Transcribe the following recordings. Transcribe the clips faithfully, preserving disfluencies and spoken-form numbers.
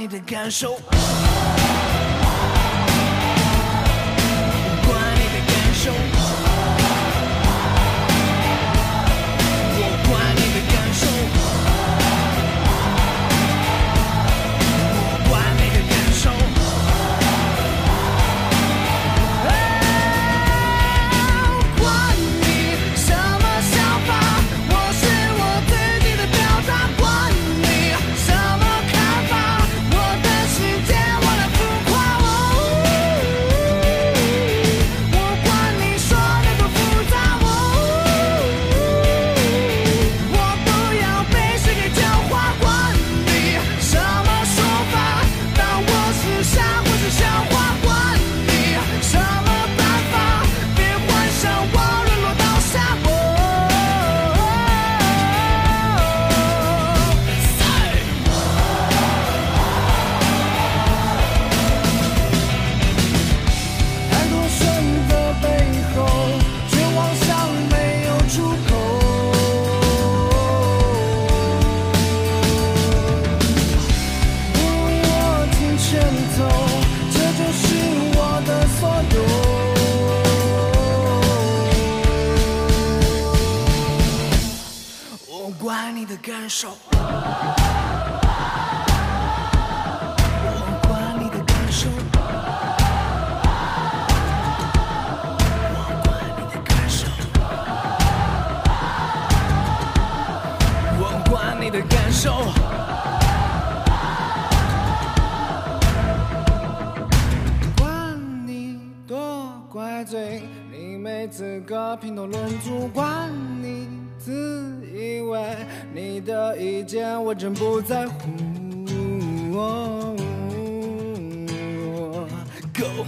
你的感受。感受，我管你的感受，我管你的感受，我管你的感受。管你多怪罪，你没资格评头论足，管你自以为你的意见我真不在乎。哦哦、Go。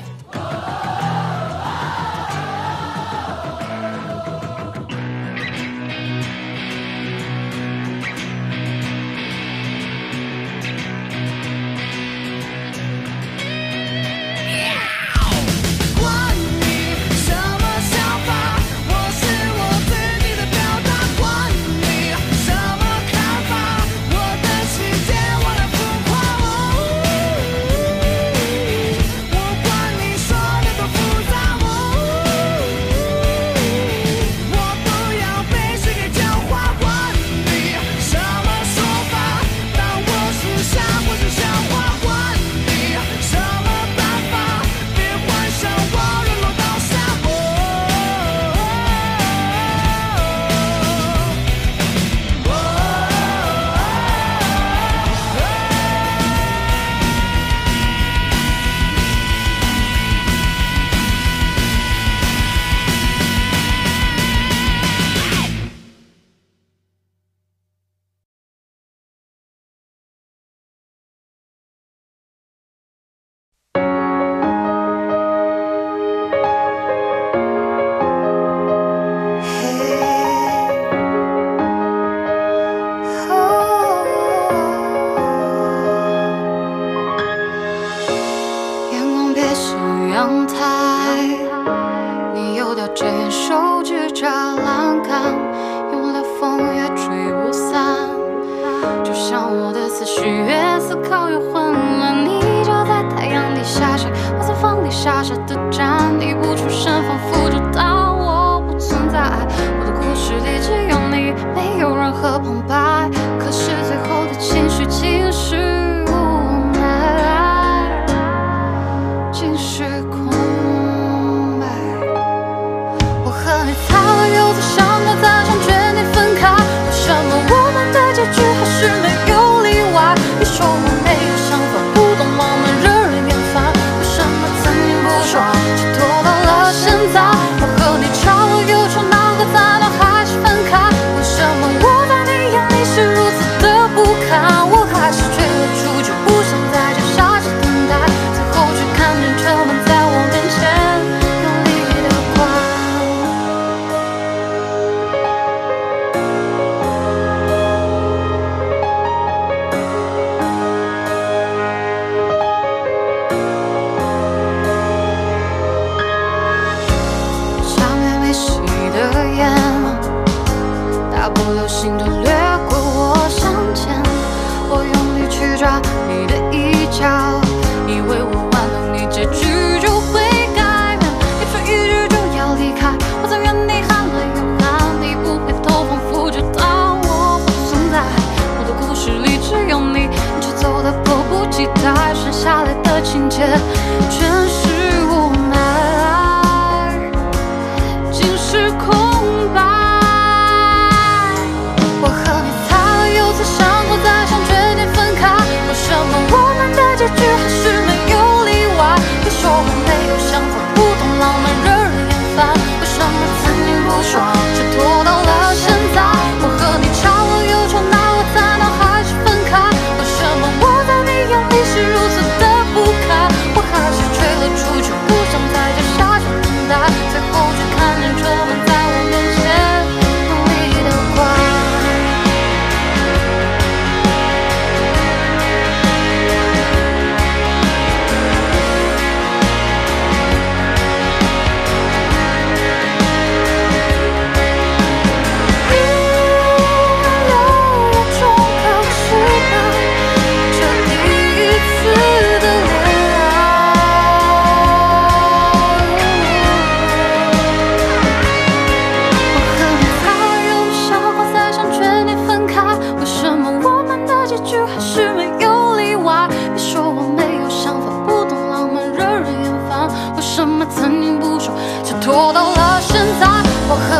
心都掠过我向前，我用力去抓你的意见。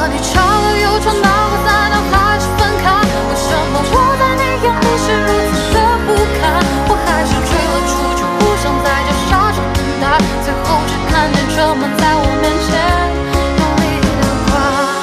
和你吵了又吵，闹了再闹，还是分开。为什么我在你眼里是如此的不堪？我还是追了出去，不想再叫傻傻等待，最后只看见车门在我面前用力的跨。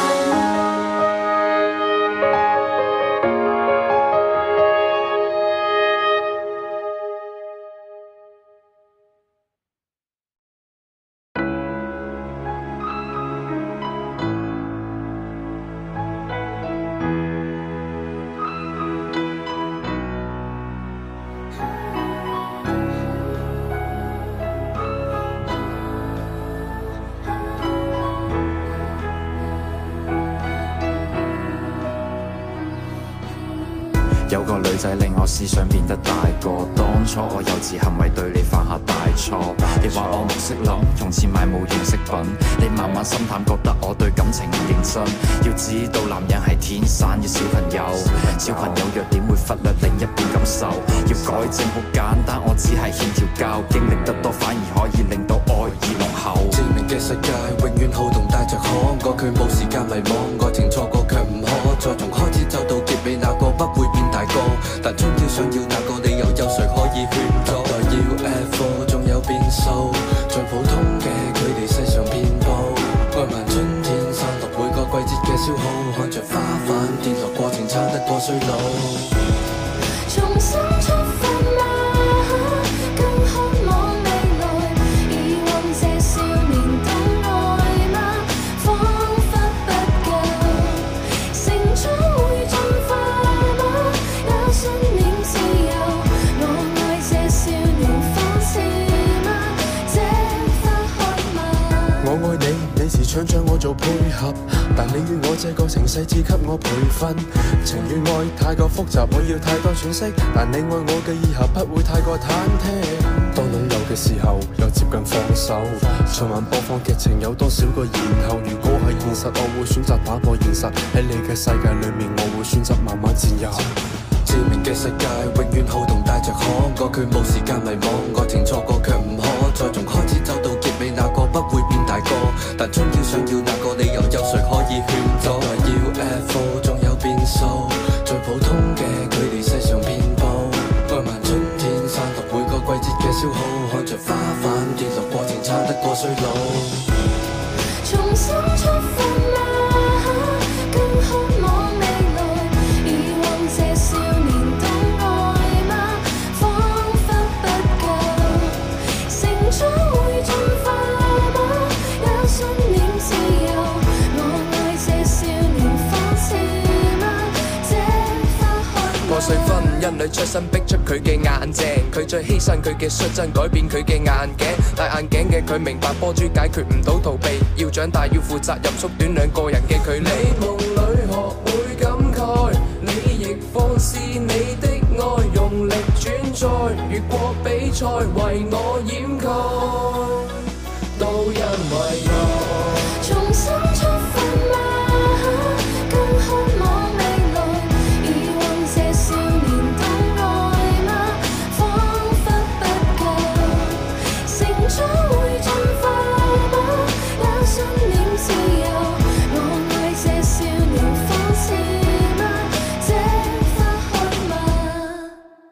有個女仔令我思想變得大個，當初我幼稚行為對你犯下大錯。你話我唔識諗，用錢買冇用飾品，你慢慢心淡，覺得我對感情唔認真。要知道男人係天生嘅小朋友，小朋友弱點會忽略另一半感受。要改正好簡單，我只係欠條教，經歷得多反而可以令到愛意濃厚。 致命嘅世界永遠好動帶着可愛，佢冇時間迷惘，愛情錯過卻唔可再從開始走到結尾，那個不會變大個，但終要想要那個理由，有誰可以勸阻？代要 F 仲有變數，像普通嘅佢哋世上遍佈，愛漫春天散落每個季節嘅消耗，看着花瓣跌落過程撐得過衰老。 重新出發嗎？更渴望未來，遺忘這少年的愛嗎？彷彿不夠，成長會進化嗎？也信念自由，我愛這少年方式嗎？這花開嗎？ 我愛你，你時常將我做配合，但你與我這個城市只給我培訓。情與愛太過複雜，我要太多喘息，但你愛我嘅以後不會太過忐忑。當擁有嘅時候，又接近放手。循環播放劇情有多少個然後？如果係現實，我會選擇打破現實。喺你嘅世界裏面，我會選擇慢慢佔有。致命嘅世界永遠好動帶着可愛，佢冇時間迷惘，愛情錯過卻唔可再從開始走到結尾，那個不會變大個，但終要想要那個理由，有誰可以勸阻？要 F 仲有變數，最普通嘅佢哋世上遍佈，愛漫春天散落每個季節嘅消耗，看着花瓣跌落過程撐得過衰老。 重新出發嗎？更渴望未來，遺忘這少年的愛嗎？彷彿不夠，成長會進化嗎？也信念自由，我愛這少年方式嗎？這花開。 破碎婚姻裏出身逼出佢嘅眼鏡，佢最犧牲佢嘅率真改變佢嘅眼鏡，戴眼鏡嘅佢明白波珠解決唔到逃避，要長大要負責任，縮短兩個人嘅距離。你夢裏學會感慨，你亦放肆你的愛，用力轉載，越過比賽為我掩蓋，都因為愛。 重新出發嗎？更渴望未來，遺忘這少年的愛嗎？彷彿不夠，成長會進化嗎？也信念自由，我愛這少年方式嗎？這花開嗎？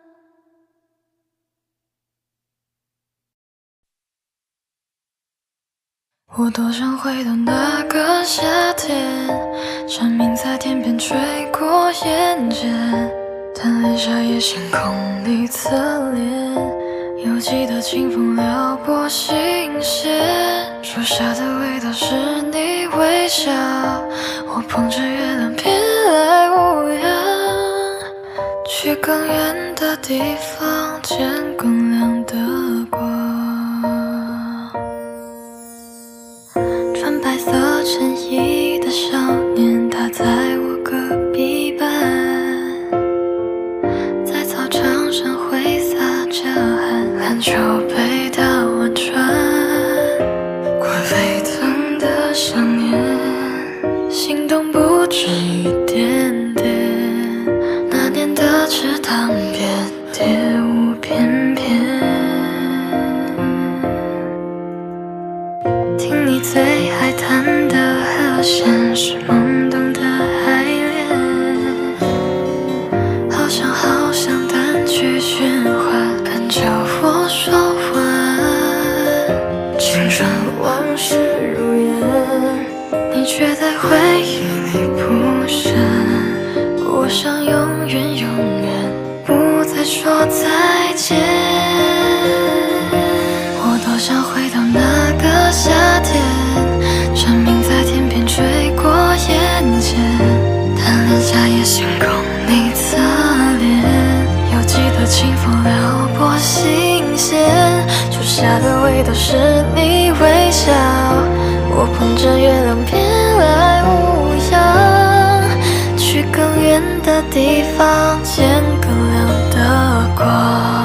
我多想回到那個夏天，蝉鳴在天邊吹過眼間，但淚下也星空裡側臉，猶記得清風撩撥心弦，樹下的味道是你微笑，我捧着月亮飄來無恙，去更遠的地方見更亮的光。穿白色襯衣的少年，他在我隔壁班，在操場上揮灑着汗，籃球被打完穿，快沸騰的想念，心動不止一點點，那年的池塘邊蝶舞翩翩，聽你最愛彈的和弦是夢。 回忆里不深，我想永远永远不再说再见。我多想回到那个夏天，蝉鸣在天边吹过眼前，贪恋夏夜星空你侧脸，犹记得清风撩拨心弦，树下的味道是你微笑，我捧着月亮边来无恙，去更远的地方见更亮的光。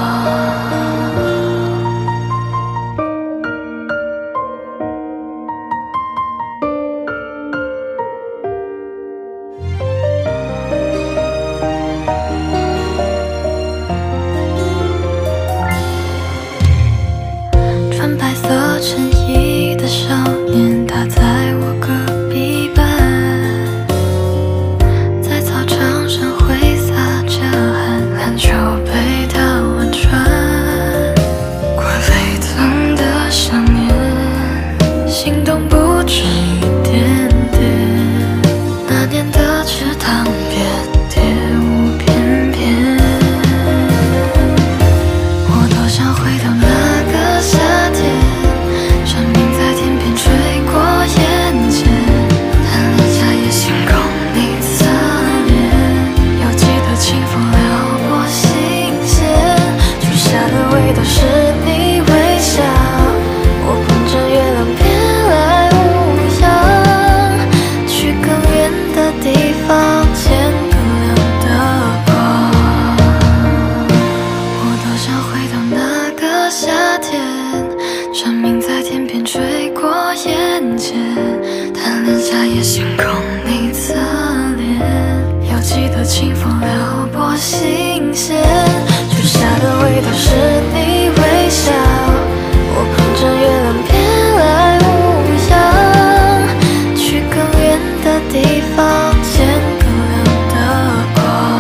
穿白色衬衣的少年，他在我隔壁班，在操场上挥洒着汗，篮球被他玩穿。快沸腾的想念，心动不止一点点，那年的池塘边蝶舞翩翩，我多想回到那个夏天，蝉鸣在天边吹过眼前，贪恋夏夜星空你侧脸，犹记得清风撩拨心弦，树下的味道是你微笑，我捧着月亮边来无恙，去更远的地方见更亮的光。我多想回到那个夏天，蝉鸣在天边吹过眼前，贪恋夏夜星空你侧脸，犹记得清风撩拨心弦，树下的味道是你微笑，我捧着月亮边来无恙，去更远的地方见更亮的光。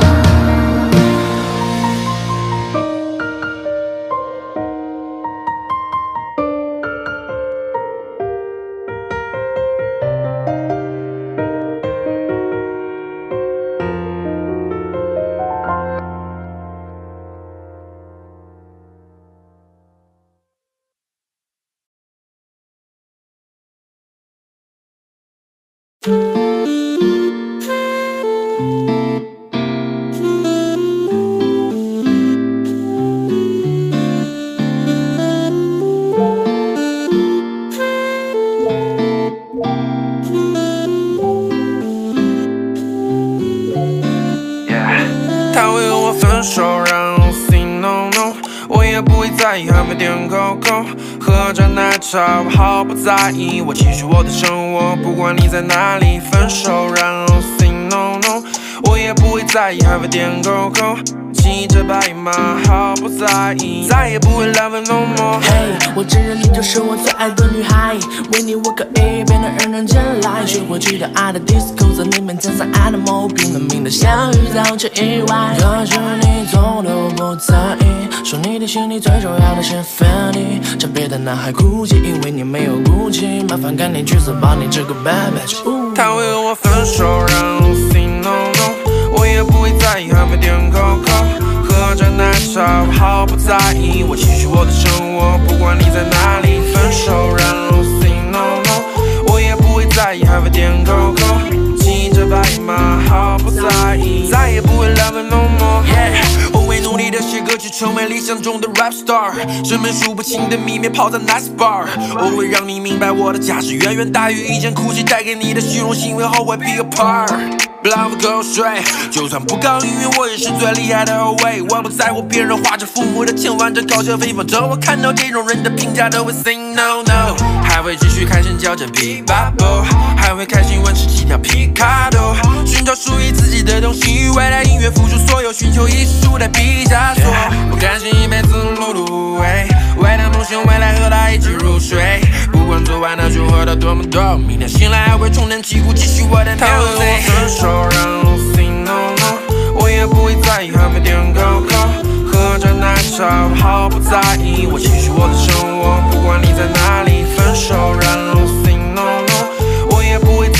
他会和我分手，然后 say no no， 我也不会在意，还没点口口，喝着奶茶，我毫不在意，我继续我的生活，不管你在哪里。分手，然后 say no no， 我也不会在意，还会点口口，骑着白马，毫不在意，再也不会来问 no more。 嘿，我承认你就是我最爱的女孩，为你我可以变得人人间来，学会去到爱的 disco， 在你面前像 animal， 拼了命的相遇早就意外，可是你总都不在意，说你的心里最重要的是 feeling， 叫别的男孩哭泣，因为你没有骨气，麻烦赶紧去死吧，你这个 bad bitch。 他会和我分手，然后 say no no， 我也不会在意，还没点口口，喝着奶茶，我毫不在意，我继续我的生活，不管你在哪里。分手，然后 say no no， 我也不会在意，还会点口口，骑着白马，毫不在意，再也不会来问 no more。Yeah， 我会努力的写歌曲，成为理想中的 rap star， 身边数不清的秘密泡在 nice bar， 我会让你明白我的价值远远大于一件哭泣带给你的虚荣心，会后悔 be apart。But I will go straight， 就算不搞音乐，我也是最厉害的后卫。我不在乎别人花着父母的钱玩着高消费，反正我看到这种人的评价都会 say no no， 还会继续开心嚼着琵琶波，还会开心玩十几条皮卡多，寻找属于自己的东西，为了音乐付出所有，寻求艺术的毕加索。我甘心一辈子碌碌无为，为了梦想，未来和他一起入睡。不管昨晚的酒喝到多么多，明天醒来还会重振旗鼓，继续我的牛 Z。分手，然后 say no no， 我也不会在意，还没点口口，喝着奶茶，我毫不在意，我继续我的生活，不管你在哪里。分手，然后 say no no， 我也不会在意，还会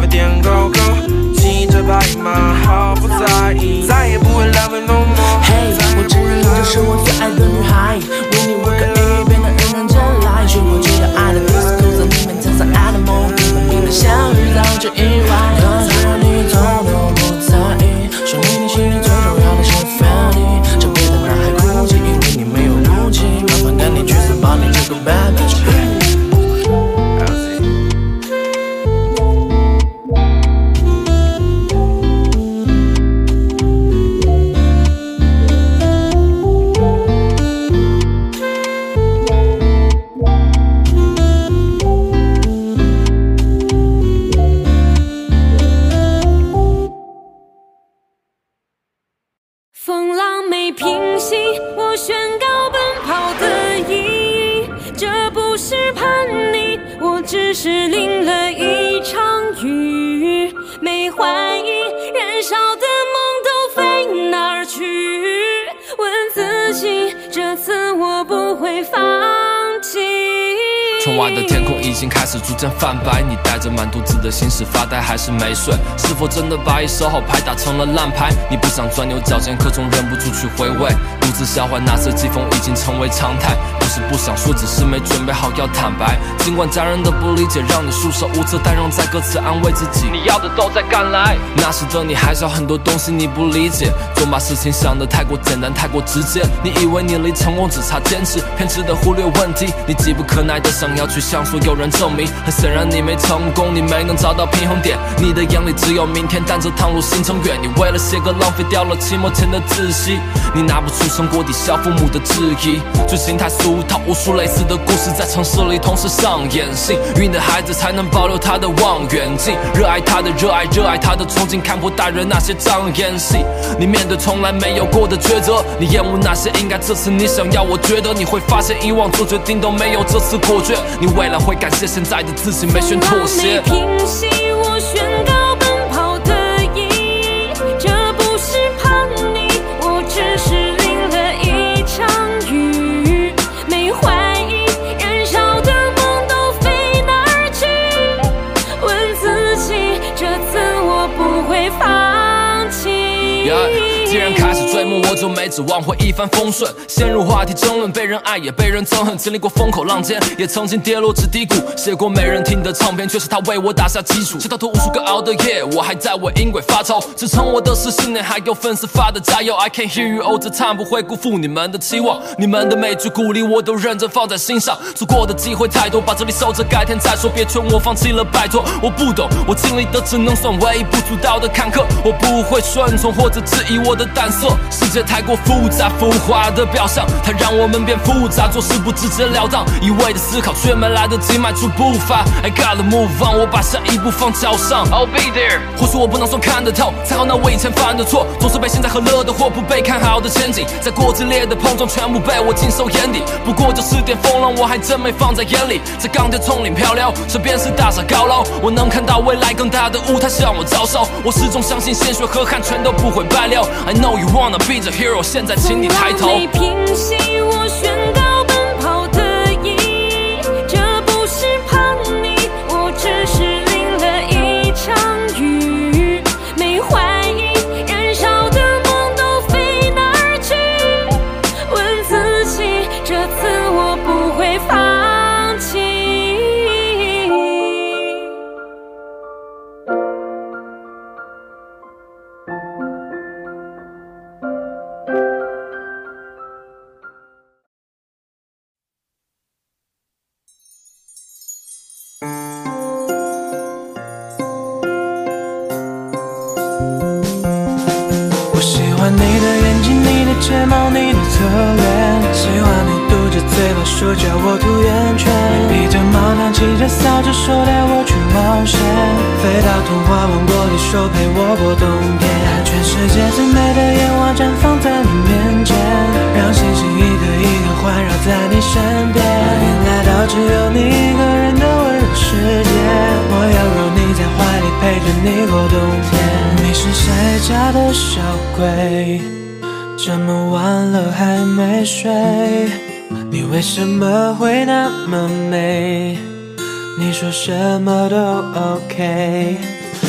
啡店狗狗，骑着白马毫不在意，再也不会浪费 no more。 嘿，我知你就是我最爱的女孩，为你我可以变得人人真来，学会记得爱的 disco， 在里面站上爱的梦，分明的相遇早就意外，可是你从都不在意，说明你心里最重要的是 family。这辈子男孩哭泣，因为你没有武器，麻烦赶紧去拥抱你这个 bad bitch。 风浪没平息，我宣告奔跑的意义。这不是叛逆，我只是淋了一场雨。没怀疑，燃烧的梦都飞哪儿去？问自己，这次我不会放弃。 窗外的天空已经开始逐渐泛白，你带着满肚子的心事发呆，还是没睡？是否真的把一手好牌打成了烂牌？你不想钻牛角尖，可总忍不住去回味，独自消化那些季风已经成为常态。不是不想说，只是没准备好要坦白。尽管家人的不理解让你束手无策，但仍在歌词安慰自己，你要的都在赶来。那时的你还小，很多东西你不理解，总把事情想得太过简单，太过直接。你以为你离成功只差坚持，偏执的忽略问题，你急不可耐的想要去向所有人证明，很显然你没成功，你没能找到平衡点。你的眼里只有明天，但这趟路行程远，你为了写歌浪费掉了期末前的自习。你拿不出成果抵消父母的质疑，剧情太俗套，无数类似的故事在城市里同时上演。幸运的孩子才能保留他的望远镜，热爱他的热爱，热爱他的憧憬，看破大人那些障眼戏。你面对从来没有过的抉择，你厌恶那些应该，这次你想要，我觉得你会发现以往做决定都没有这次果决。你未来会感谢现在的自己没选妥协。 风浪没平息，我宣告奔跑的意义。这不是叛逆，我只是淋了一场雨。没怀疑，燃烧的梦都飞哪儿去？问自己，这次我不会放弃。 Yeah.既然开始追梦，我就没指望会一帆风顺。陷入话题争论，被人爱也被人憎恨，经历过风口浪尖，也曾经跌落至低谷。写过没人听的唱片，却是他为我打下基础。直到头无数个熬的夜，我还在为音轨发愁。支撑我的是信念，还有粉丝发的加油。I can hear you all the time， 不会辜负你们的期望。你们的每句鼓励，我都认真放在心上。错过的机会太多，把这里守着，改天再说。别劝我放弃了，拜托。我不懂，我经历的只能算微不足道的坎坷。我不会顺从或者质疑我的胆色，世界太过复杂，浮华的表象，它让我们变复杂，做事不直截了当，一味的思考却没来得及迈出步伐。I gotta move on， 我把下一步放脚上。I'll be there。或许我不能算看得透，才好那我以前犯的错，总是被现在和乐的或不被看好的前景，在过激烈的碰撞，全部被我尽收眼底。不过就是点风浪，我还真没放在眼里，在钢铁丛林漂流，身边是大厦高楼，我能看到未来更大的舞台向我招手。我始终相信鲜血和汗全都不会白流。I know you wanna be the hero， 现在请你抬头。 风浪没平息，我宣告奔跑的意义。这不是叛逆，我只是淋了一场雨。没怀疑，燃烧的梦都飞哪儿去？问自己，这次我不会放弃。 你的眼睛，你的睫毛，你的侧脸，喜欢你嘟着嘴巴说叫我涂圆圈，你披着毛毯，骑着扫帚，说带我去冒险，飞到童话王国里，手陪我过冬天，全世界最美的烟花绽放在你面前，让星星一颗一颗环绕在你身边，迎来到只有你一个人的温柔世界，我要拥你在怀里，陪着你过冬天。你是谁家的小鬼？这么晚了还没睡，你为什么会那么美？你说什么都 OK。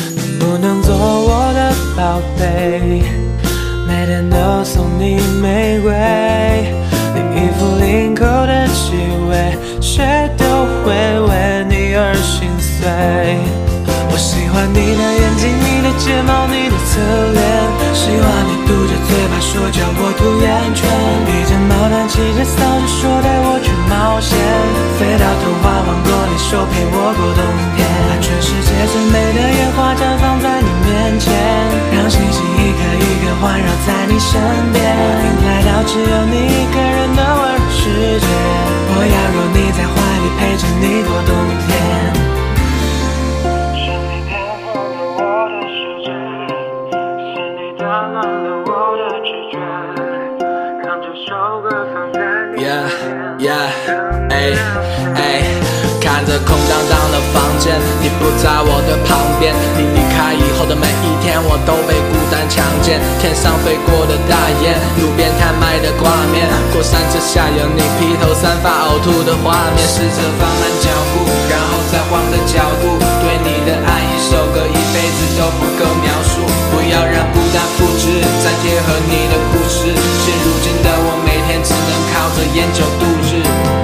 宝贝，每天都送你玫瑰，你衣服领口的气味，谁都会为你而心碎。我喜欢你的眼睛，你的睫毛，你的侧脸，喜欢你嘟着嘴巴说叫我涂眼圈，披着毛毯骑着扫帚说带我去冒险，飞到童话王国里手陪我过冬天，把全世界最美的野花绽放在你面前，让星星一颗一颗环绕在你身边，来到只有你一个人的温柔世界，我要有你在怀里陪着你过冬天。 Yeah, yeah, 哎哎，看着空荡荡的房间，你不在我的旁边。你离开以后的每一天，我都被孤单强奸。天上飞过的大雁，路边摊卖的挂面，过山车下有你披头散发呕吐的画面。试着放慢脚步，然后再换个角度，对你的爱一首歌一辈子都不够描述。不要让孤单复制，再贴合你的故事。现如今的我，每天只能靠着烟酒度日。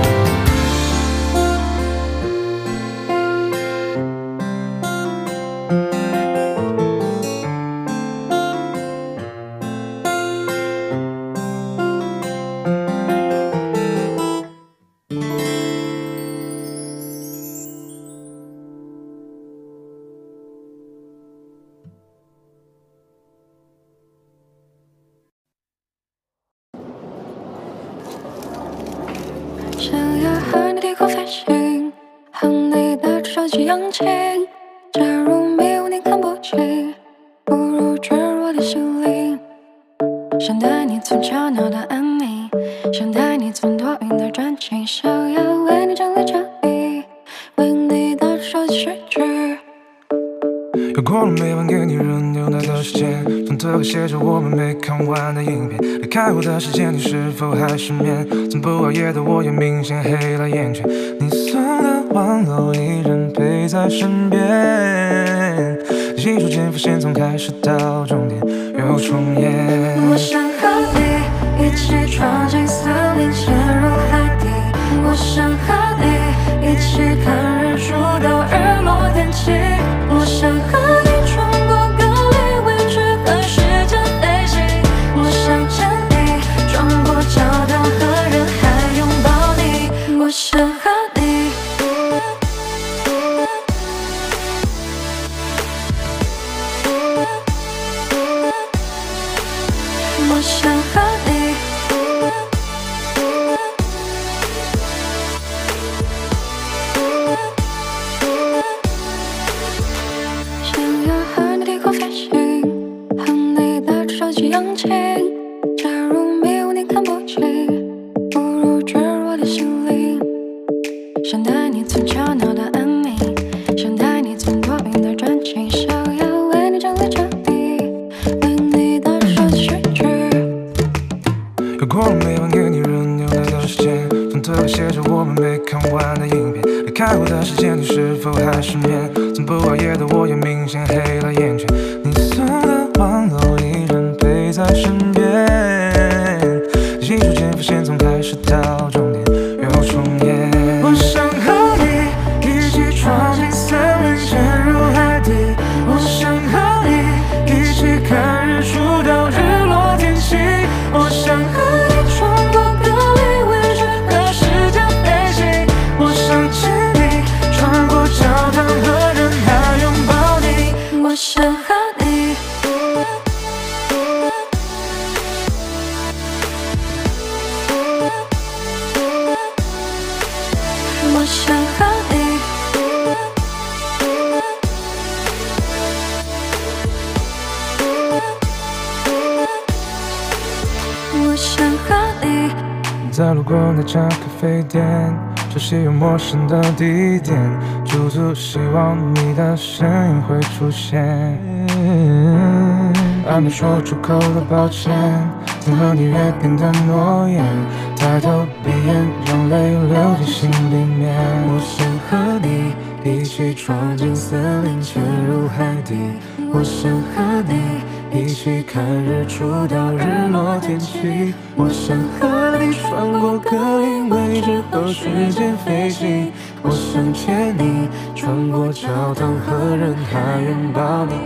想要和你低空飞行，和你的手机扬起。假如没有你看不清，不如坠入的心灵。想带你从吵闹到安宁，想带你从多云的转晴。想要为你整理家里，为你的手机睡去。 又过了每晚给你轮流的时间，风特和写着我们没看完的影片。离开我的时间，你是否还失眠？从不熬夜的我也明显黑了眼圈。你送的玩偶依然陪在身边，记住间伏线从开始到终点又重演。 我想和你一起闯进森林，潜入海底。我想和你一起看日出到日落天晴。我想和你穿过隔离位置和时间飞行。我想牵你穿过教堂和人海拥抱你。我想和你我想和你想要和你低空飞行，和你的手机扬起。假如没有你看不清，不如坠入我的心灵。想带你从吵闹到安宁，想带你从多云的转晴。想要为你整理家里，为你的手机睡去。 又过了每晚给你轮流的时间，风特和写着我们没看完的影片。离开我的时间，你是否还失眠？从不熬夜的我也明显黑了眼圈。你送的玩偶依然陪在身边，记住间伏线从开始到终点又重演。我想和你一起闯进森林，潜入海底。我想和你一起看日出到日落天晴。我想和你穿过隔离位置和时间飞行。我想牵你穿过教堂和人海拥抱你。 我想和你我想和你我想和你在路过那家咖啡店，熟悉又陌生的地点，驻足希望你的身影会出现。还没说出口的抱歉，曾和你约定的诺言，抬头闭眼，让泪流进心里面。 我想和你一起闯进森林，潜入海底。我想和你一起看日出到日落天气。我想和你穿过格林威治后时间飞行，我想牵你穿过教堂和人海拥抱你。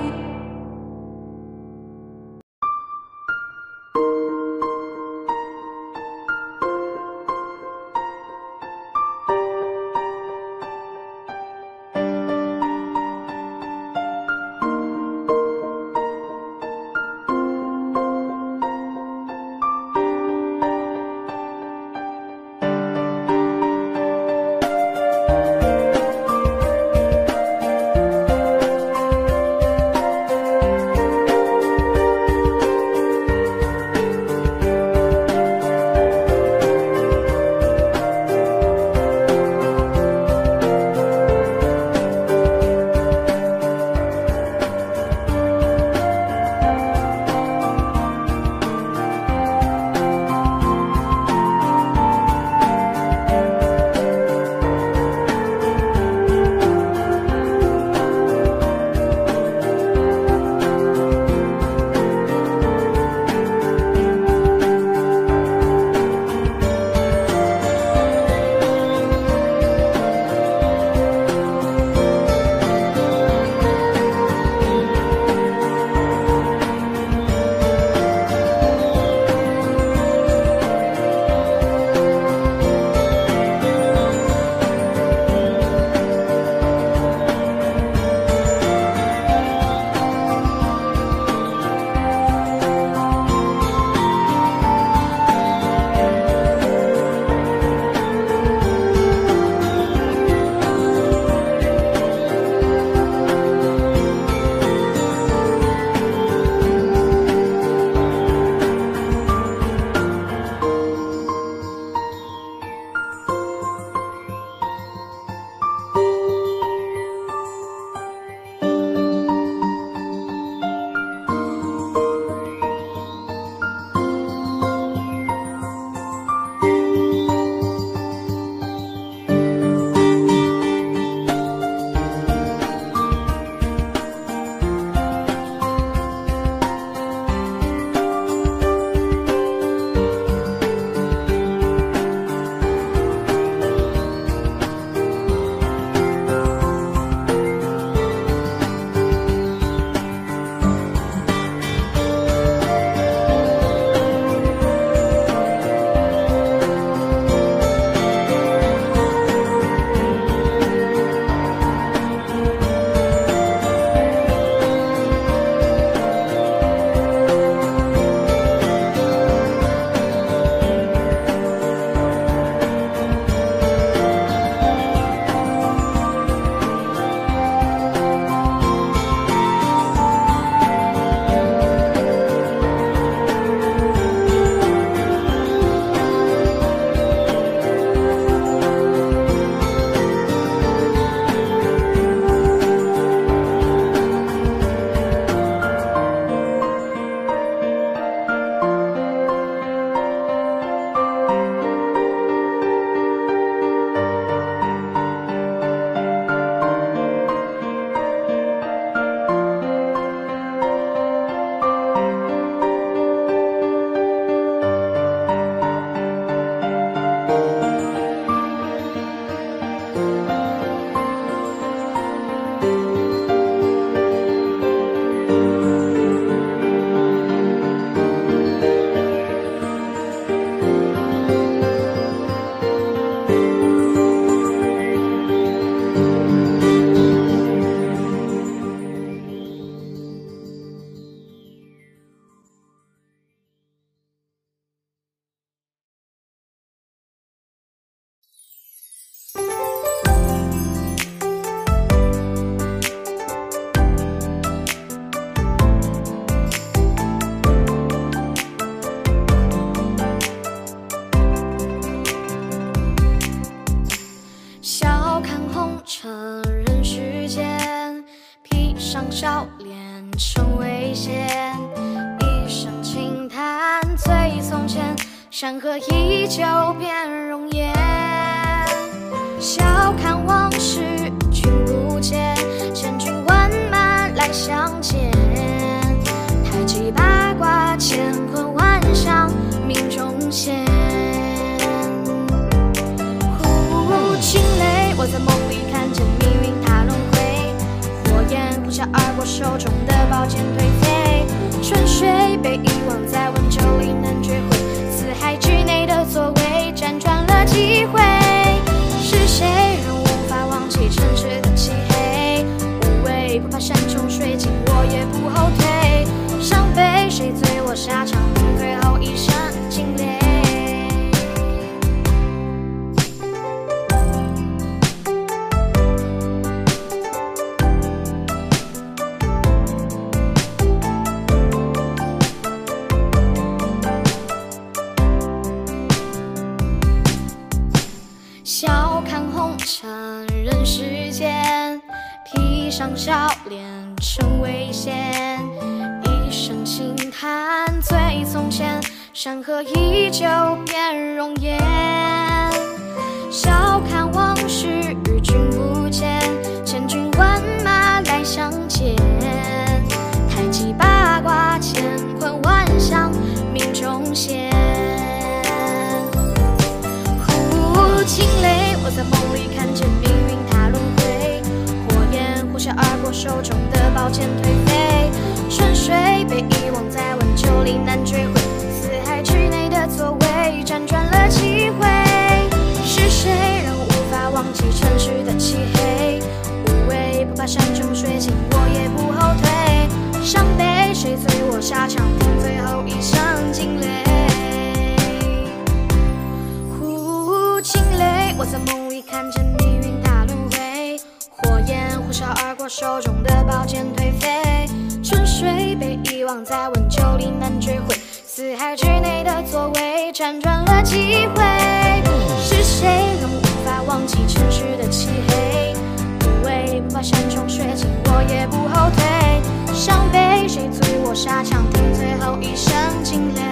笑脸成危险，一声轻叹醉从前，山河依旧变容颜。笑看往事君不见，千军万马来相见。太极现。呼，惊雷，我在梦里看见命运它轮回，火焰呼啸而过，手中的宝剑颓废，春水被遗忘在温酒里难追回，四海之内的座位辗转了几回，是谁让无法忘记城市的漆黑？无畏不怕山穷水尽，我也不后退。伤悲谁醉我沙场，最后一声惊雷。笑看红尘人世间，披上笑脸成危险，一声轻叹最从前，山河依旧变容颜。笑看往事与君不见，千军万马来相见，太极八卦乾坤万象命中现。呼，惊雷，我在梦里看见命运它轮回，火焰呼啸而过，手中的宝剑颓废，春水被遗忘在温酒里难追回，四海之内的座位辗转了几回，是谁让无法忘记城市的漆黑？无畏不怕山穷水尽，我也不后退。伤悲谁醉我沙场，听最后一声惊雷。呼，惊雷，我在梦里看见命运它轮回，火焰呼啸而过，手中的宝剑颓废，春水被遗忘在温酒里难追回，四海之内的座位辗转了几回，是谁让无法忘记城市的漆黑？无畏不怕山穷水尽，我也不后退。伤悲谁醉我沙场，听最后一声惊雷。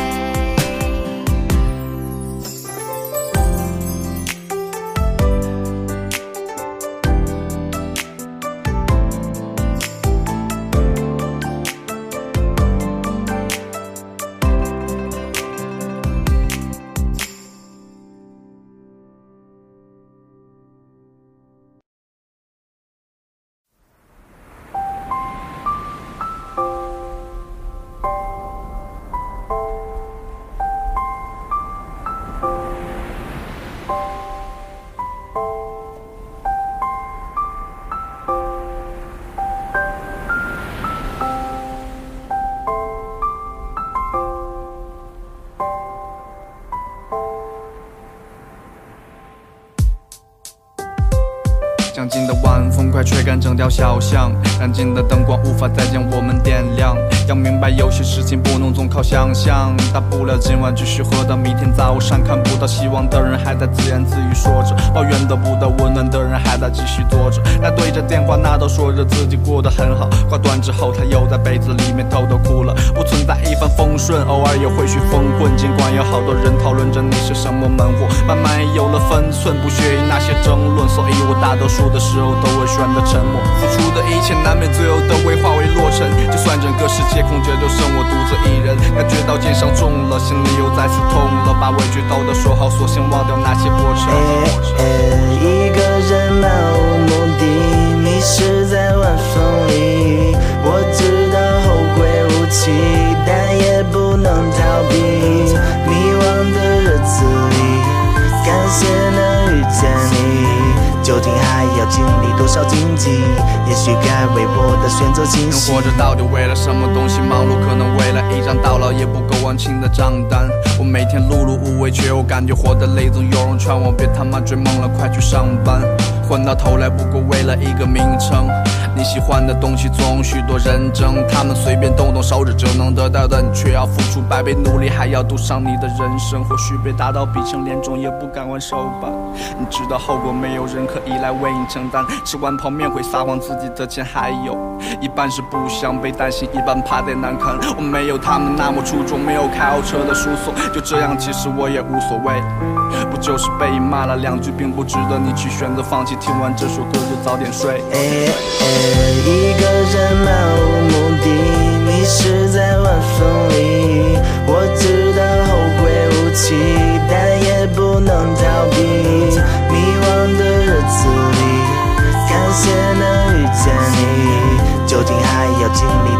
将近的晚风快吹干整条小巷，燃尽的灯光无法再将我们点亮。要明白有些事情不能总靠想象，大不了今晚继续喝到明天早上。看不到希望的人还在自言自语说着，抱怨得不到温暖的人还在继续坐着。那对着电话那都说着自己过得很好，挂断之后他又在被子里面偷偷哭了。不存在一帆风顺，偶尔也会许风混，尽管有好多人讨论着你是什么门户，慢慢也有了分寸，不屑于那些争论，所以我大多数的时候都会选择沉默。付出的一切难免最后都会化为落尘，就算整个世界空着，就剩我独自一人。感觉到肩上重了，心里又再次痛了，把委屈都都说好，索性忘掉那些过程。 一个人漫无目的，迷失在晚风里。我知道后会无期，但也不能逃避。迷惘的日子里，感谢能遇见你。究竟还要经历多少荆棘？也许该为我的选择清晰。 人活着到底为了什么东西忙碌？可能为了一张到老也不够完清的账单。我每天碌碌无为，却又感觉活得累。总有人劝我别他妈追梦了，快去上班。混到头来不过为了一个名称。你喜欢的东西总许多人争，他们随便动动手指就能得到的，你却要付出百倍努力，还要赌上你的人生。或许被打到鼻青脸肿，也不敢还手吧。你知道后果，没有人可以来为你承担。吃完泡面会撒谎，自己的钱还有一半是不想被担心，一半怕再难堪。我没有他们那么出众，没有开豪车的输送，就这样其实我也无所谓。不就是被骂了两句，并不值得你去选择放弃。听完这首歌就早点睡。 欸欸，一个人漫无目的，迷失在晚风里。我知道后会无期，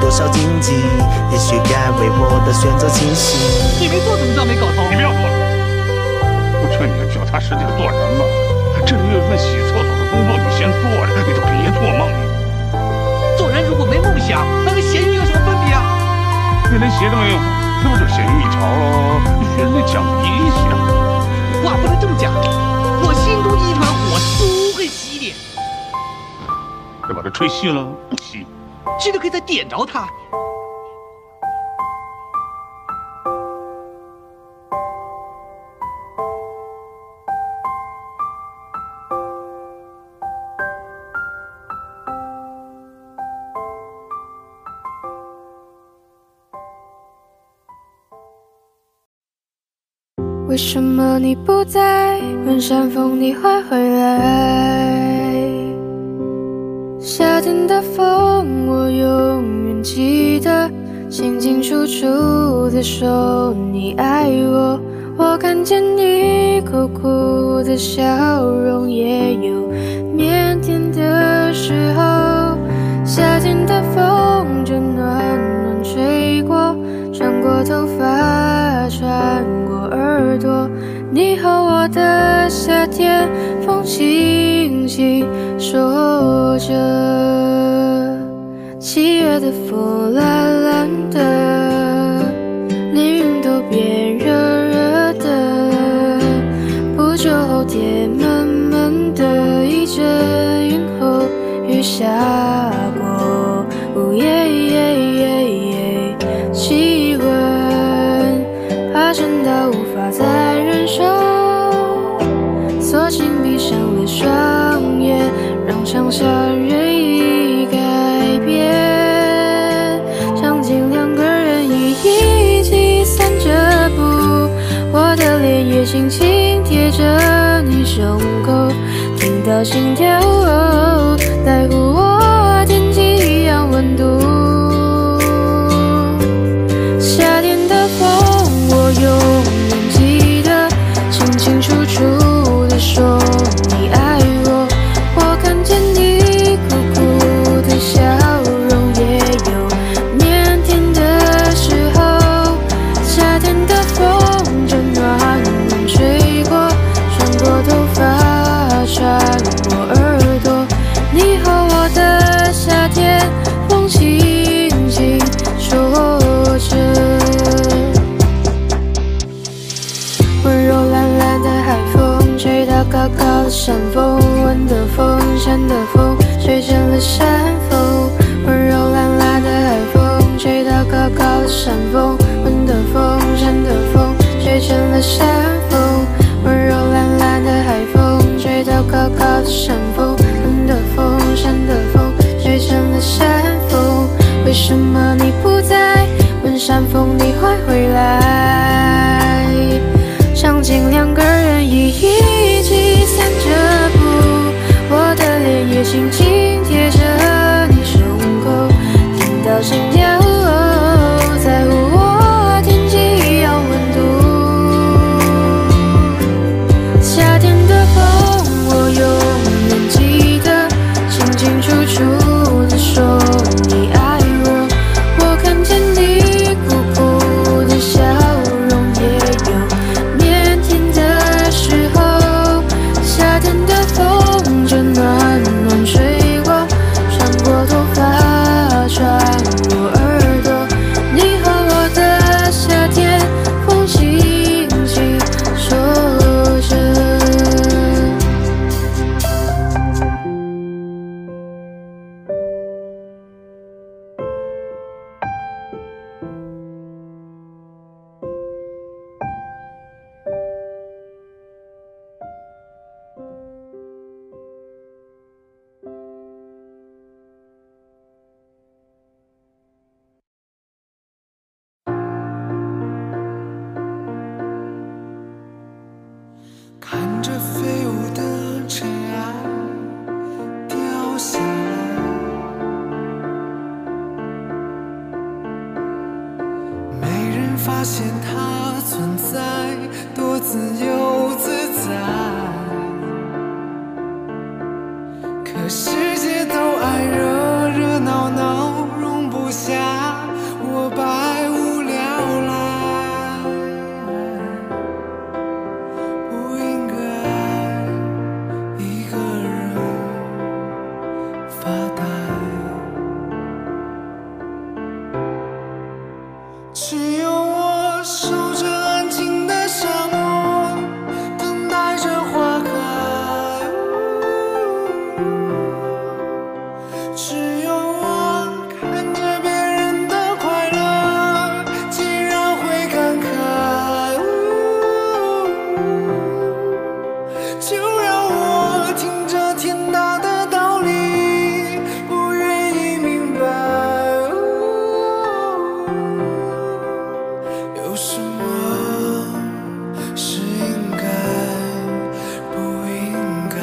多少荆棘，也许该为我的选择清晰。 你没做怎么知道没搞头？ 你不要做了，我劝你脚踏实地的做人吧。这六月份洗厕所的工作你先做着，你就别做梦了。 做人如果没梦想，那跟咸鱼有什么分别啊？ 你连鞋都没有，那不就咸鱼一条喽？你学人家讲理一下。 话不能这么讲，我心中一团火都会熄的。 要把它吹熄了，不熄。 熄了可以再点着它。 为什么你不在？问山风你会回来？夏天的风，我永远记得，清清楚楚的说你爱我。我看见你苦苦的笑容，也有腼腆的时候。夏天的风就暖暖吹过，穿过头发，穿过耳朵。你和我的夏天，风轻轻说着。七月的风蓝蓝的，连云都变热热的。不久后天闷闷的，一阵云后雨下过。哦耶耶耶耶，气温爬升到无法再忍受，索性闭上了双眼，让想象任意改变。场景两个人一一起散着步，我的脸也轻轻贴着你胸口，听到心跳哦，在乎我天气一样温度。夏天的风，我永远记得，清清楚楚地说你爱我。我看见你苦苦的笑容，也有腼腆的时候。夏天的风就暖暖吹过，穿过头发，穿过耳朵。你和我的夏天，风轻轻说着。温柔懒懒的海风，吹到高高的山峰，闻的风，山的风，吹成了山峰。温柔懒懒的海风，吹到高高的山峰，闻的风，山的风，吹成了山峰。温柔懒懒的海风，吹到高高的山峰，闻的风，山的风，吹成了山峰。为什么你不在？问山风你会回来？场景两个人一一起散着步，我的脸也轻轻贴着你胸口，听到心跳哦，在乎我天气一样温度。夏天的风，我永远记得，清清楚楚地说你爱我。我看见你苦苦的笑容，也有腼腆的时候。夏天的风就暖暖吹过，穿过头发，穿过耳朵。你和我的夏天，风轻轻说着。 看着飞舞的尘埃掉下来，没人发现它存在，多自由自在。可世界都爱热热闹闹，容不下只有我守着安静的沙漠，等待着花开。只有我看着别人的快乐，竟然会感慨。就让我听着天大的道理，不愿意明白。有什么是应该，不应该？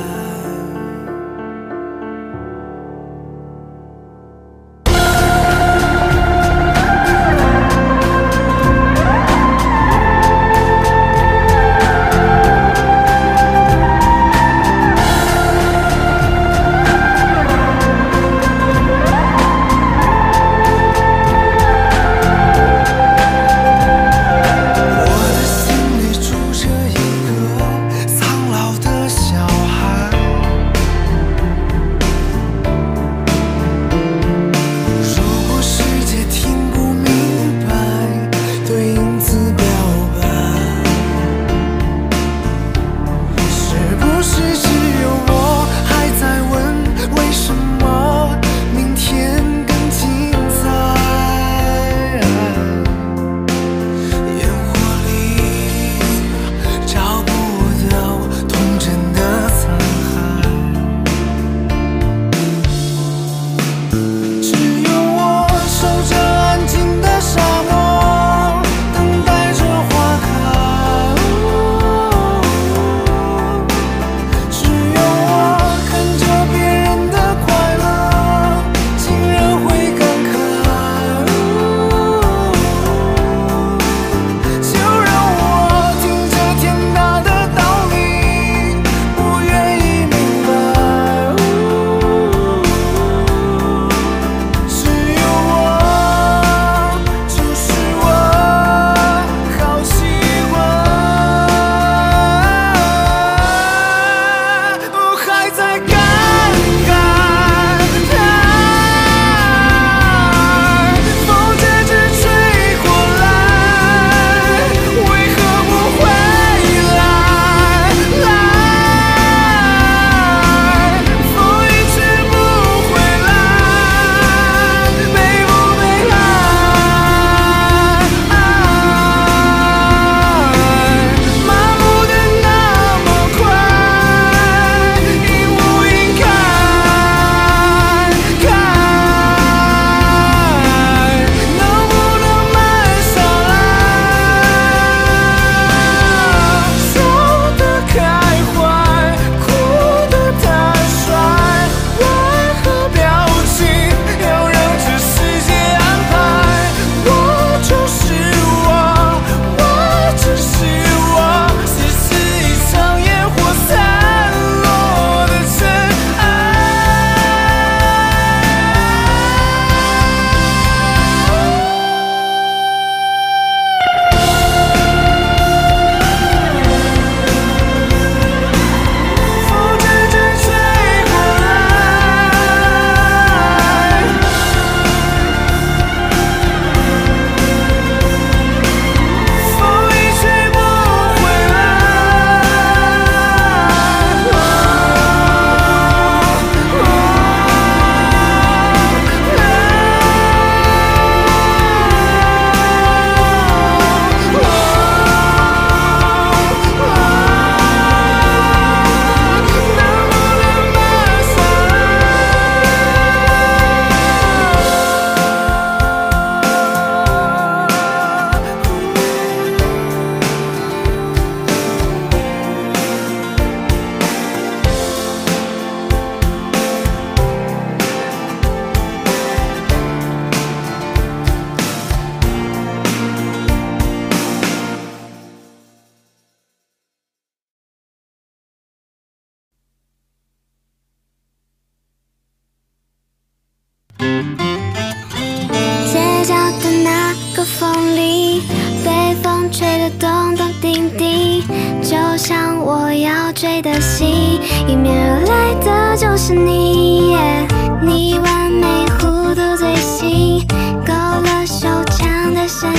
街角的那个风里，被风吹得咚咚叮叮，就像我要追的星，迎面而来的就是你。你完美弧度最新，勾勒手枪的身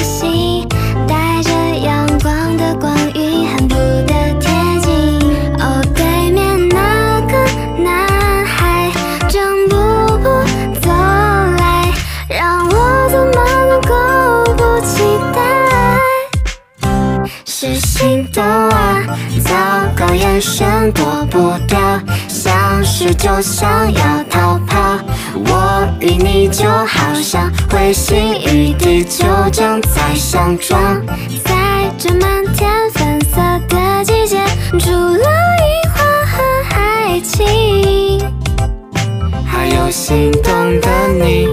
眼神躲不掉，相识就想要逃跑。我与你就好像彗星与地球正在相撞，在这满天粉色的季节，除了樱花和爱情，还有心动的你。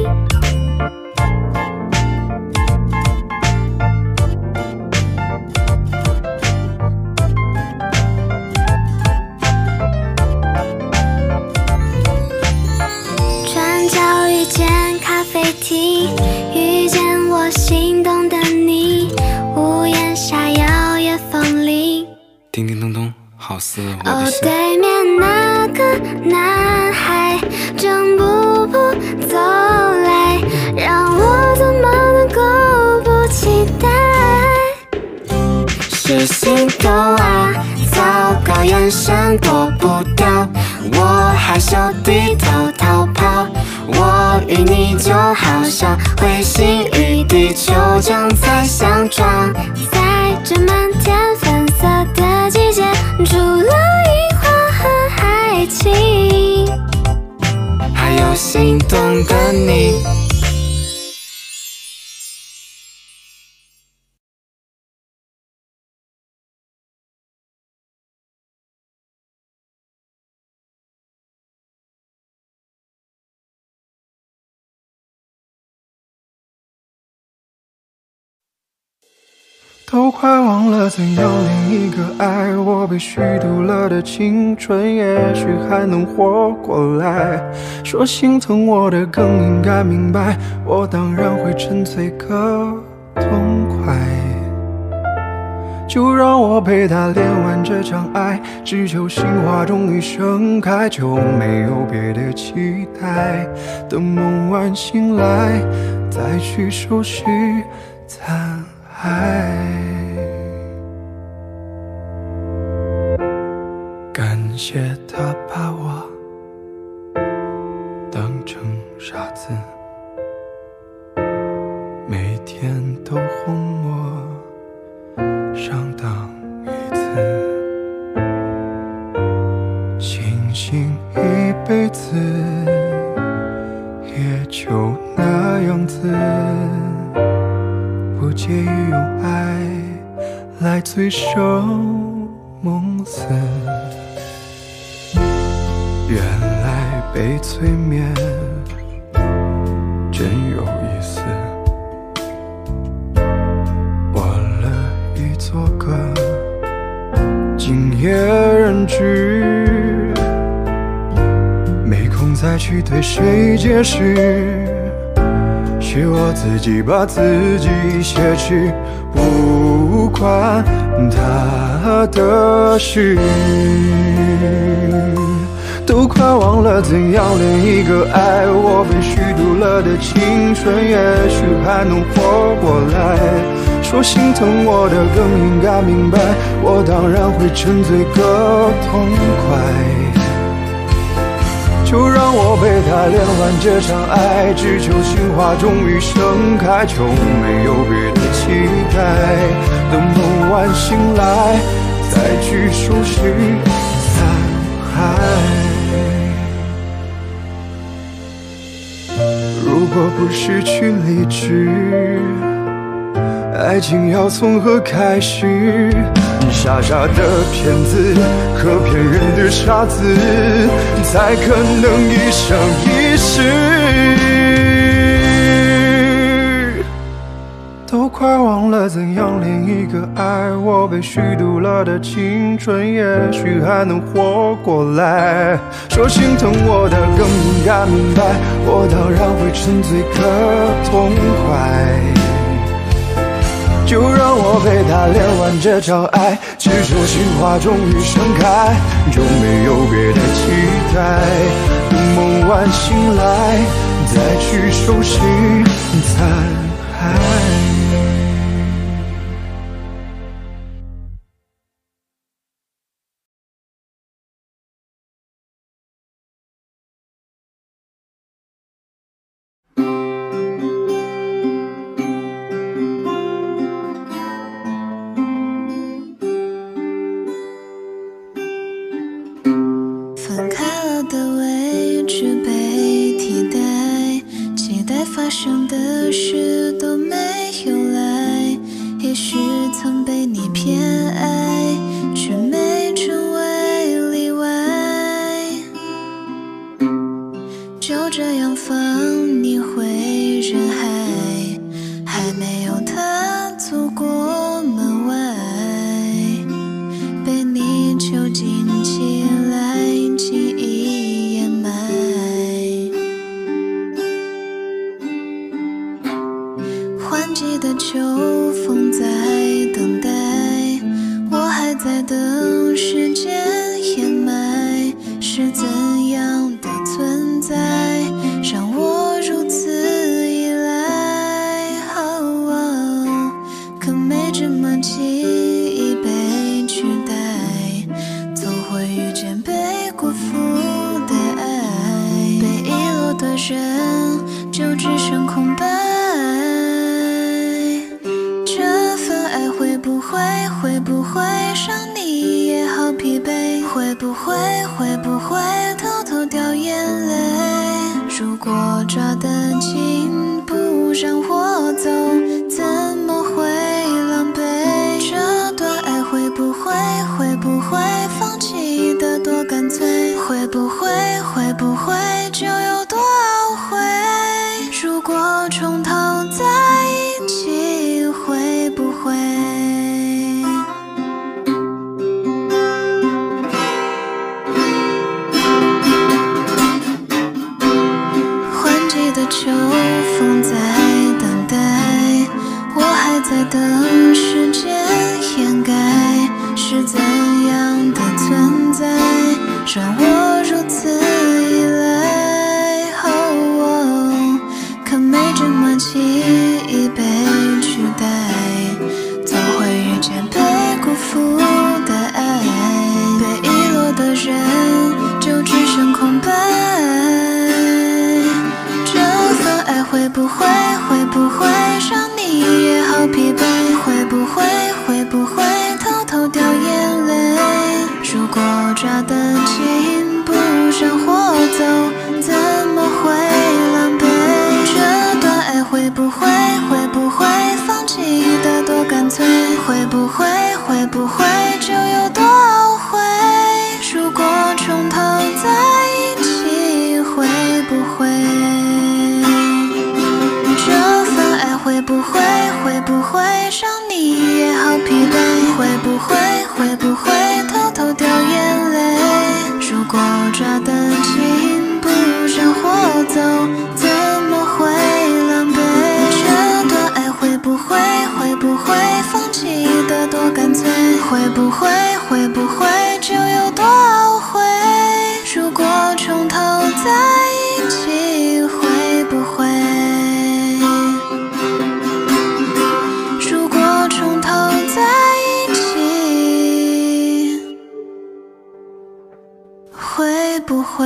转角遇见咖啡厅，遇见我心动的你，屋檐下摇曳风铃， 叮叮咚咚，好似我的哦， 心。 对面那个男孩正步步走来，让我怎么能够不期待？是心动啊，糟糕，眼神躲不掉，我害羞低头逃跑。我与你就好像彗星与地球正在相撞，在这满天粉色的季节，除了樱花和爱情，还有心动的你。 都快忘了怎样另一个爱，我被虚度了的青春也许还能活过来。说心疼我的更应该明白，我当然会沉醉个痛快。就让我陪他练完这场爱，只求心花终于盛开，就没有别的期待。等梦完醒来，再去收拾残骸。感谢他把我当成傻子，每天都哄我上当一次，庆幸一辈子也就那样子，不介意用爱来醉生梦死。原来被催眠真有意思，我乐意做个敬业人质，没空再去对谁解释，是我自己把自己挟持，不关他的事。都快忘了怎样恋一个爱，我被虚度了的青春也许还能活过来。说心疼我的更应该明白，我当然会沉醉个痛快。就让我陪他练完这场爱，只求心花终于盛开，就没有别的期待。等梦完醒来，再去收拾残骸。如果不失去理智，爱情要从何开始？傻傻的骗子和骗人的傻子，才可能一生一世。都快忘了怎样恋一个爱，我被虚度了的青春也许还能活过来。说心疼我的更应该明白，我当然会沉醉个痛快。就让我陪他练完这场爱，只求心花终于盛开，就没有别的期待。等梦完醒来，再去收拾残骸。 没有踏足过门外，被你囚禁起来，记忆掩埋。换季的秋风在等待，我还在等时间掩埋，是怎样的存在让我如此依赖？哦，可没这么轻易被取代，总会遇见被辜负的爱，被遗落的人就只剩空白。这份爱会不会会不会让你也好疲惫？会不会会不会偷偷掉眼泪？如果抓得紧不让我走，怎么会狼狈？这段爱会不会会不会放弃的多干脆？会不会会不会就有多懊悔？如果从头在一起会不会？秋风在等待，我还在等时间掩盖，是怎样的存在让我如此依赖？哦，可没这么轻易被取代，总会遇见被辜负的爱，被遗落的人就只剩空白。爱会不会会不会让你也好疲惫？会不会会不会偷偷掉眼泪？如果抓得紧不让我走，怎么会狼狈？这段爱会不会会不会放弃的多干脆？会不会会不会就有多懊悔？如果从头在一起会不会？会不会会不会让你也好疲惫？会不会会不会偷偷掉眼泪？如果抓得紧不让我走，怎么会狼狈？这段爱会不会会不会放弃的多干脆？会不会会不会就有多懊悔？如果从头在一起会不会？会不会？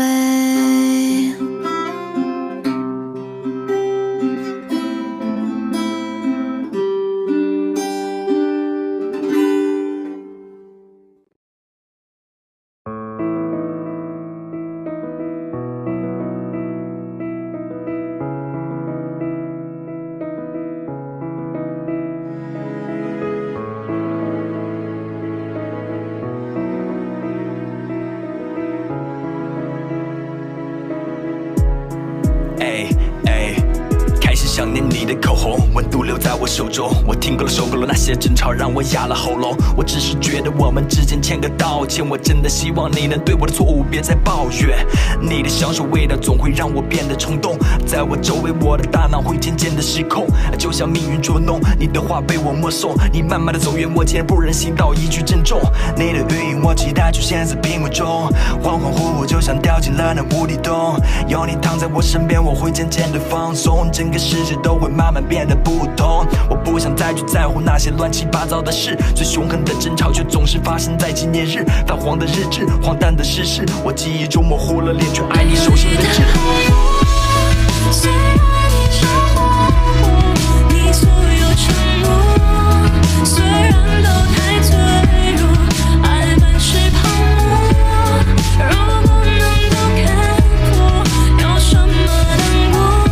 想念你的口红，温度留在我手中。我听够了，受够了那些争吵，让我哑了喉咙。我只是觉得我们之间欠个道歉。我真的希望你能对我的错误别再抱怨。你的香水味道总会让我变得冲动，在我周围，我的大脑会渐渐的失控，就像命运捉弄。你的话被我默诵，你慢慢的走远，我竟然不忍心道一句珍重。你的语音我期待出现在屏幕中，恍恍惚惚就像掉进了那无底洞。有你躺在我身边，我会渐渐的放松，整个世界都会慢慢变得不同。我不想再去在乎那些乱七八糟的事，最凶狠的争吵却总是发生在纪念日。泛黄的日志，荒诞的事实，我记忆中模糊了脸，却爱你手心的痣。 虽然你找我，你所有承诺，虽然都太脆弱，爱本是泡沫。如果能够看破，有什么难过？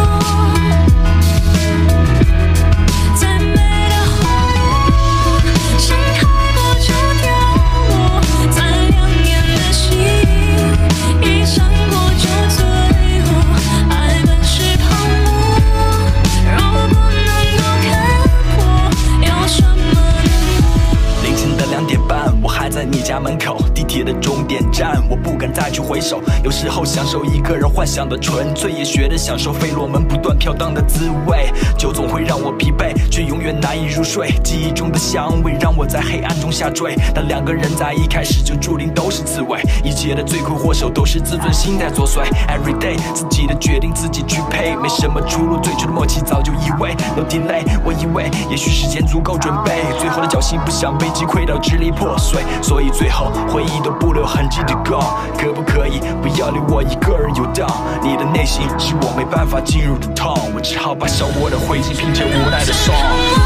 再美的花朵，盛开过就凋落；再亮眼的星，一闪过就坠落。爱本是泡沫。 回首。有时候享受一个人幻想的纯粹，也学着享受费洛蒙不断飘荡的滋味。酒总会让我疲惫，却永远难以入睡。记忆中的香味让我在黑暗中下坠。但两个人在一开始就注定都是刺猬，一切的罪魁祸首都是自尊心在作祟。Every day 自己的决定自己去配，没什么出路，最初的默契早就以为 No delay。我以为也许时间足够准备，最后的侥幸不想被击溃到支离破碎，所以最后回忆都不留痕迹的 go。可不可以不要留我一个人游荡？你的内心是我没办法进入的痛，我只好把手握的灰烬拼成无奈的song。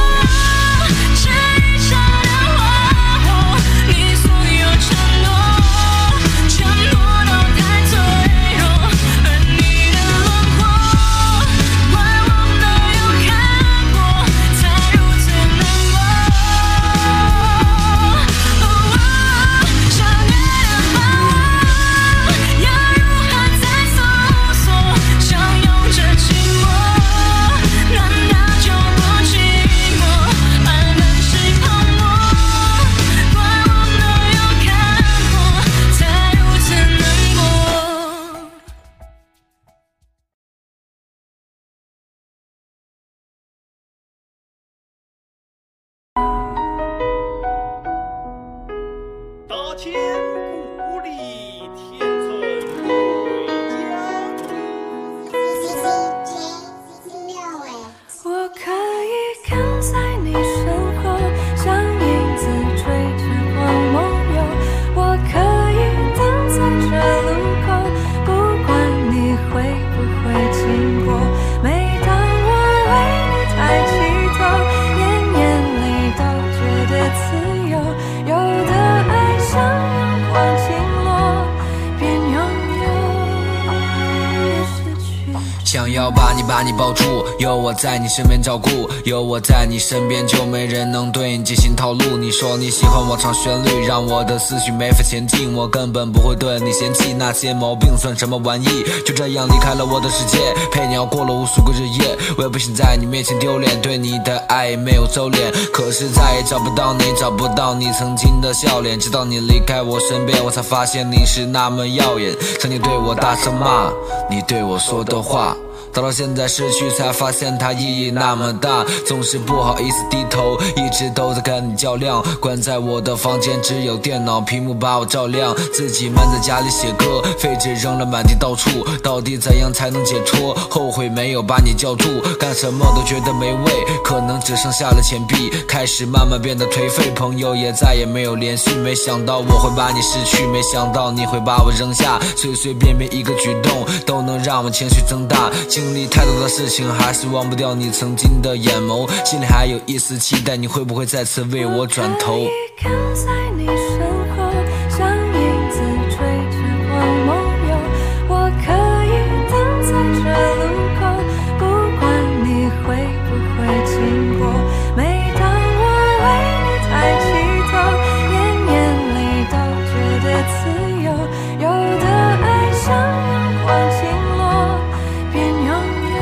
想要把你把你抱住，有我在你身边照顾，有我在你身边就没人能对你进行套路。你说你喜欢我唱旋律，让我的思绪没法前进，我根本不会对你嫌弃，那些毛病算什么玩意？就这样离开了我的世界，陪你熬过了无数个日夜，我也不想在你面前丢脸，对你的爱没有收敛，可是再也找不到你，找不到你曾经的笑脸，直到你离开我身边，我才发现你是那么耀眼。曾经对我大声骂，你对我说的话，到了现在失去才发现它意义那么大，总是不好意思低头，一直都在跟你较量，关在我的房间只有电脑屏幕把我照亮，自己闷在家里写歌，废纸扔了满地到处，到底怎样才能解脱？后悔没有把你叫住，干什么都觉得没味，可能只剩下了钱币，开始慢慢变得颓废，朋友也再也没有联系，没想到我会把你失去，没想到你会把我扔下，随随便便一个举动都能让我情绪增大，经历太多的事情，还是忘不掉你曾经的眼眸，心里还有一丝期待，你会不会再次为我转头？ 跟在你身后，像影子追着光梦游，我可以等在这路口，不管你会不会经过，每当我为你抬起头，眼眼里都觉得自由，有的爱像阳光倾落，边拥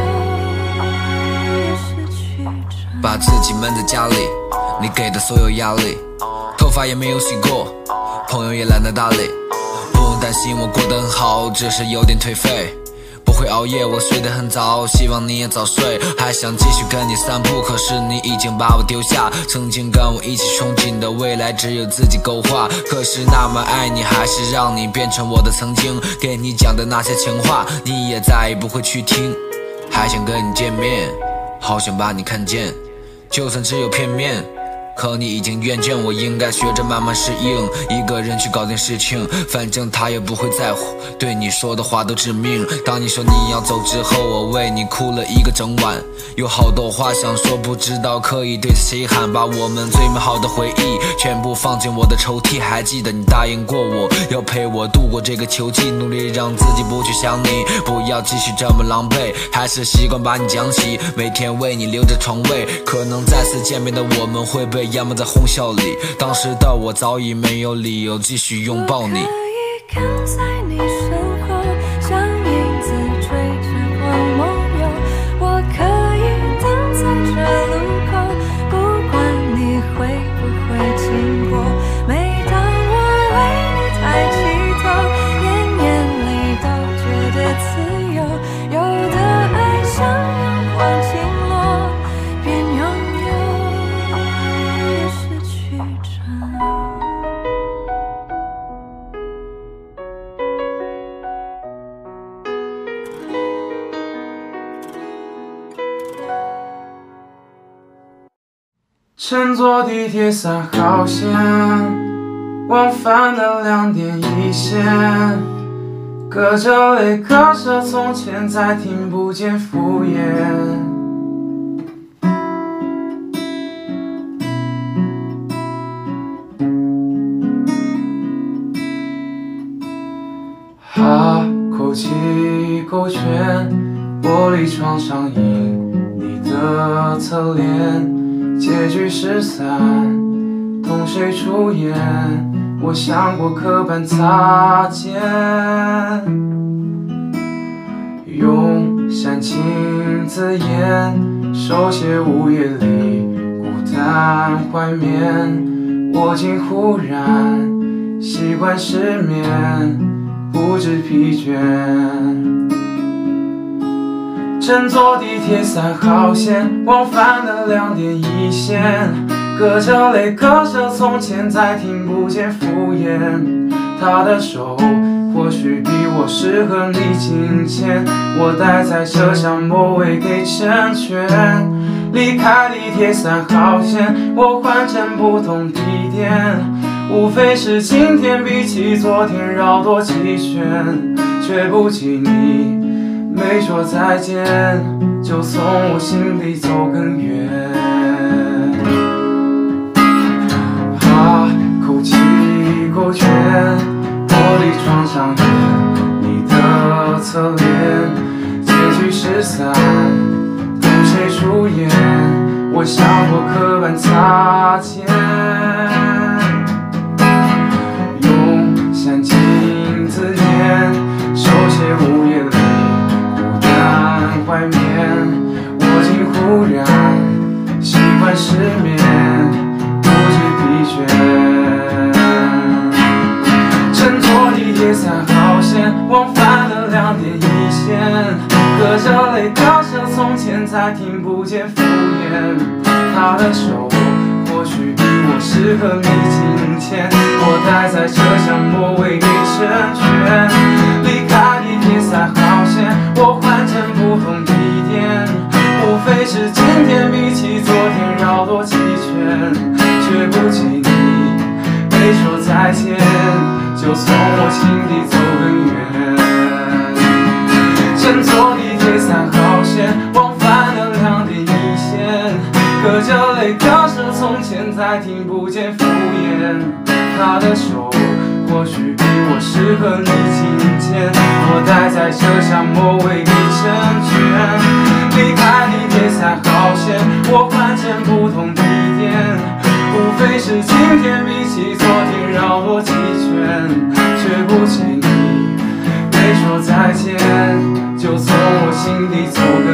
有也失去着， 把自己闷在家里，你给的所有压力，头发也没有洗过，朋友也懒得搭理，不用担心我过得很好，只是有点颓废，不会熬夜，我睡得很早，希望你也早睡，还想继续跟你散步，可是你已经把我丢下，曾经跟我一起憧憬的未来只有自己勾画，可是那么爱你，还是让你变成我的曾经，给你讲的那些情话，你也再也不会去听，还想跟你见面，好想把你看见，就算只有片面，可你已经厌倦，我应该学着慢慢适应，一个人去搞定事情，反正他也不会在乎，对你说的话都致命。当你说你要走之后，我为你哭了一个整晚，有好多话想说，不知道可以对谁喊，把我们最美好的回忆全部放进我的抽屉，还记得你答应过我要陪我度过这个秋季，努力让自己不去想你，不要继续这么狼狈，还是习惯把你讲起，每天为你留着床位，可能再次见面的我们会被淹没在哄笑里，当时的我早已没有理由继续拥抱你。 跟在你身后，像影子追着光梦游，我可以等在这路口，不管你会不会经过，每当我为你抬起头，眼眼乘坐地铁三号线，往返的两点一线，隔着泪隔着从前，再听不见敷衍。哈口气勾拳，玻璃窗上映你的侧脸，结局失散，同谁出演？我想过刻板擦肩，用煽情字眼手写午夜里孤单怀缅。我竟忽然习惯失眠，不知疲倦。乘坐地铁三号线，往返的两点一线，隔着泪隔着从前，再听不见敷衍。他的手或许比我适合你紧牵，我待在车厢末尾给成全。离开地铁三号线，我换乘不同地点，无非是今天比起昨天绕多几圈，却不及你没说再见，就从我心里走更远。哈口气勾拳，玻璃窗上映你的侧脸，结局失散，同谁出演？我想过刻板擦肩，用煽情字眼手写午夜里孤单怀缅。我竟忽然习惯失眠，不知疲倦。乘坐地铁三号线，往返的两点一线，隔着泪隔着从前，再听不见敷衍。他的手或许比我适合你紧牵，我待在车厢末尾给成全。离开地铁三号线，我换乘不同地点，无非是今天比起昨天绕多几圈，却不及你没说再见，就从我心底走更远。乘坐地铁三号线，往返的两点一线，隔着泪隔着从前，再听不见敷衍。他的手或许比我适合你紧牵，我待在车厢末尾给成全。离开地铁三号线，我换乘不同地点，无非是今天比起昨天绕多几圈，却不及你没说再见，就从我心底走